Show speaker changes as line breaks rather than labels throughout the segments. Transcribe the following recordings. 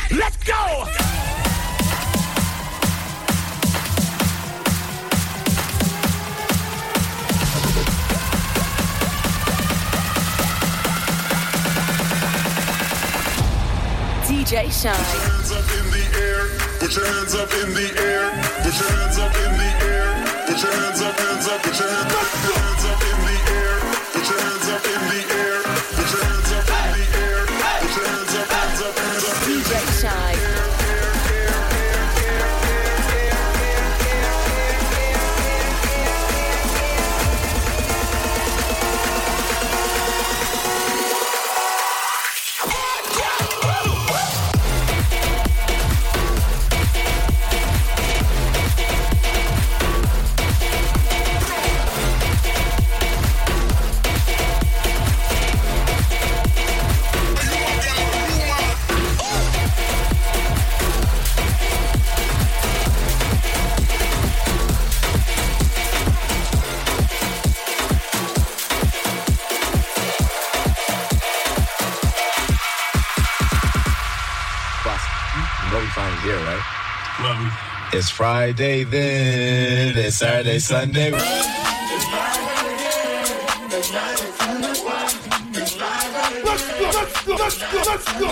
Let's go!
DJ Shine.
Put your hands up in the air. Put your hands up in the air. Put your hands up in the air. Put your hands up, hands up. Put your hands up in the air. Put your hands up in the air. Put your hands up in the air. Put your hands up, hands up, hands up.
DJ Shine.
Here, right? It's Friday then, it's Saturday, Sunday.
Let's go.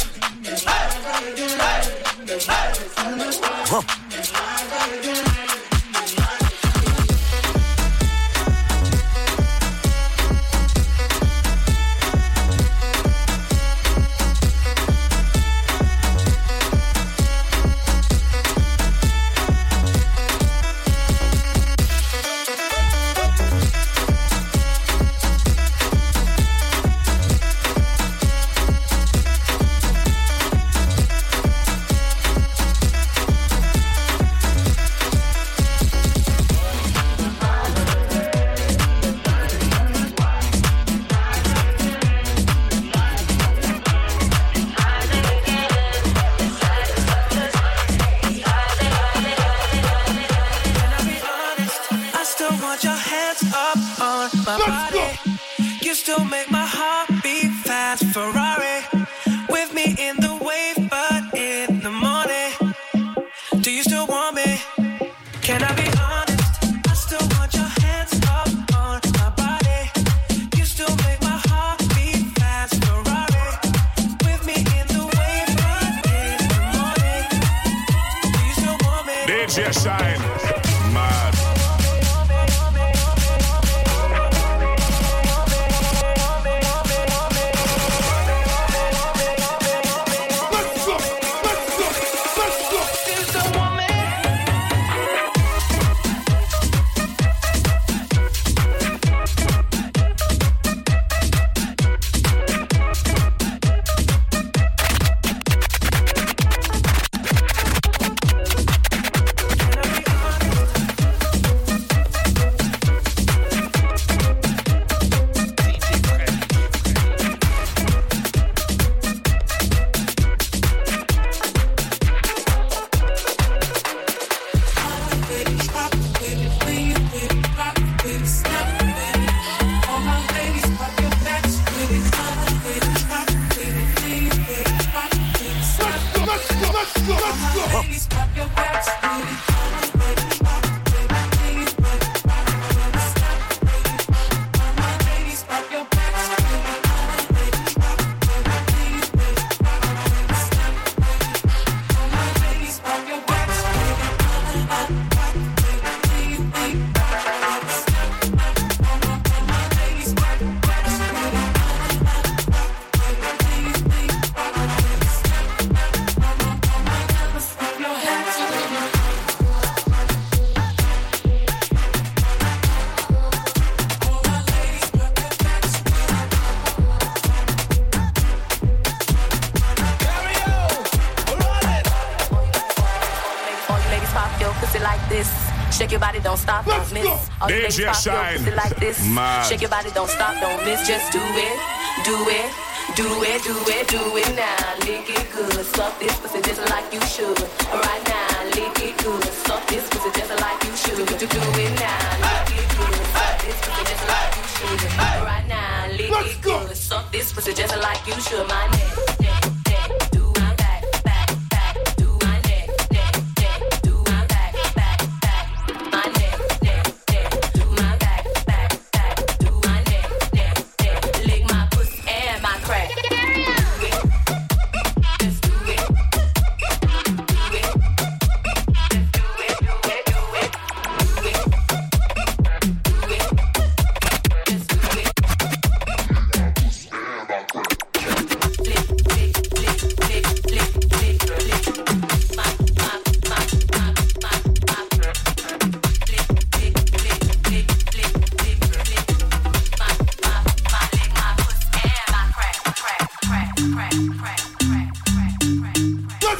Shake your body, don't stop, don't miss. All you ladies pop your pussy like this. Shake your body, don't stop, don't miss. Just do it, do it, do it, do it, do it now. Lick it good, suck this pussy just like you should. Right now, lick it good, suck this pussy just like you should. Do it now, lick it good, suck this pussy just like you should. Right now, lick it good, suck this pussy just like you should. My neck, do my back, back,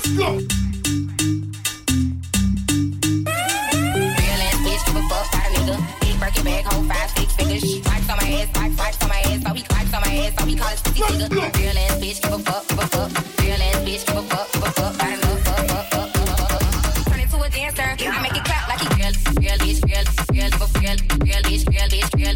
Let's go.
Real ass bitch, give a fuck about a nigga. Big Birkin bag, hold 5, 6 figures. Wipes on my ass, wipes on my ass. So we wipes on my ass, so we call it pussy nigga. Real ass bitch, give a fuck, give a fuck. Real ass bitch, give a fuck, about a nigga. Turn into a dancer, I make it clap like he real bitch, real bitch, real bitch, real bitch, real bitch, real bitch, real bitch, real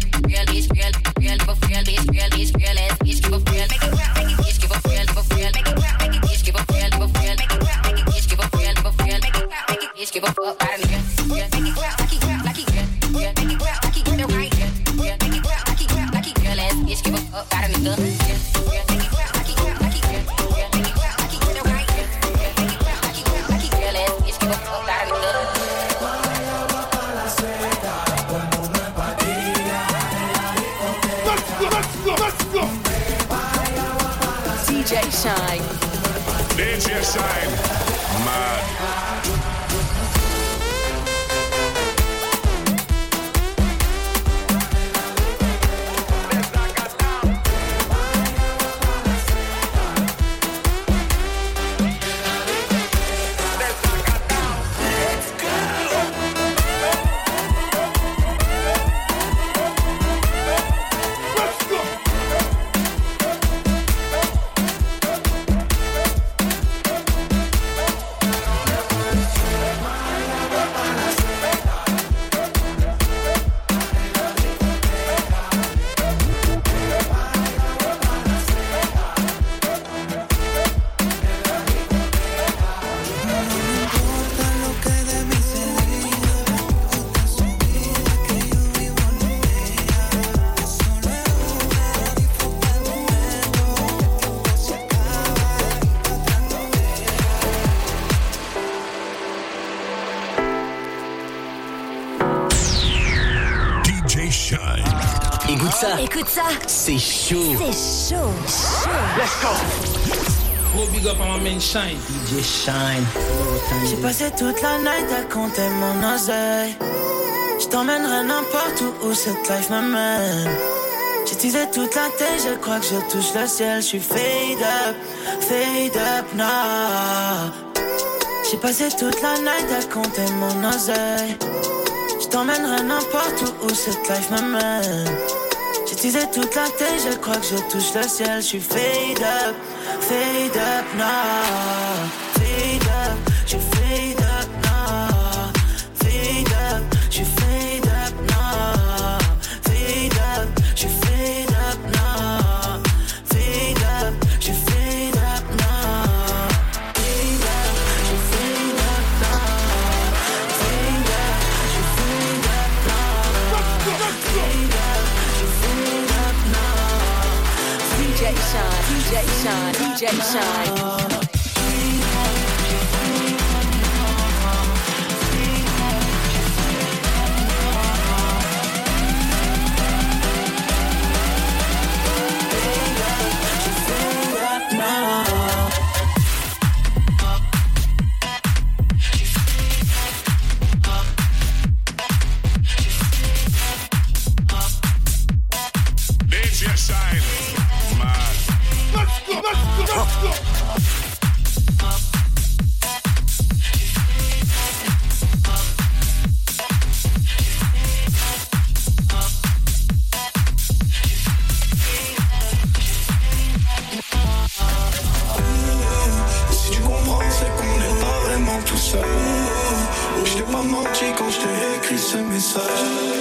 bitch, real ass bitch, give a real. Make it clap, make it bitch, give a real, give a real. Make it clap, make it bitch, give a real, give a real. Make it clap, make it bitch, give a real, give a real. Make it clap, make it bitch, give a fuck about a nigga. Make it clap like he clap like he real. Make it clap like he real right. Make it clap like he clap like he real ass bitch, give a fuck about a nigga. Make it clap like he clap like he real. Make it clap like he real right. Make it clap like he clap like he real ass bitch, give a fuck about a nigga.
Let's go.
DJ Shine.
DJ Shine. Mad.
Écoute ça.
C'est chaud.
C'est chaud.
Let's go.
Gros big up à ma main Shine.
DJ Shine.
J'ai passé toute la night à compter mon oseille. Je t'emmènerai n'importe où cette life m'amène. J'ai teasé toute la tête, je crois que je touche le ciel. Je suis fade up now. J'ai passé toute la night à compter mon oseille. Je t'emmènerai n'importe où cette life m'amène. J'ai teasé toute la tête, je crois que je touche le ciel. Je suis fade up now. Fade up, je suis fade up now. Fade up, je suis fade up now. Fade up, je suis fade up now. Fade up, je suis fade up now. Fade up, je suis fade up now. Fade up, je suis fade up now. Fade up, je suis fade up now.
DJ Shine, DJ Shine, DJ Shine.
Je t'ai pas menti quand je t'ai écrit ce message.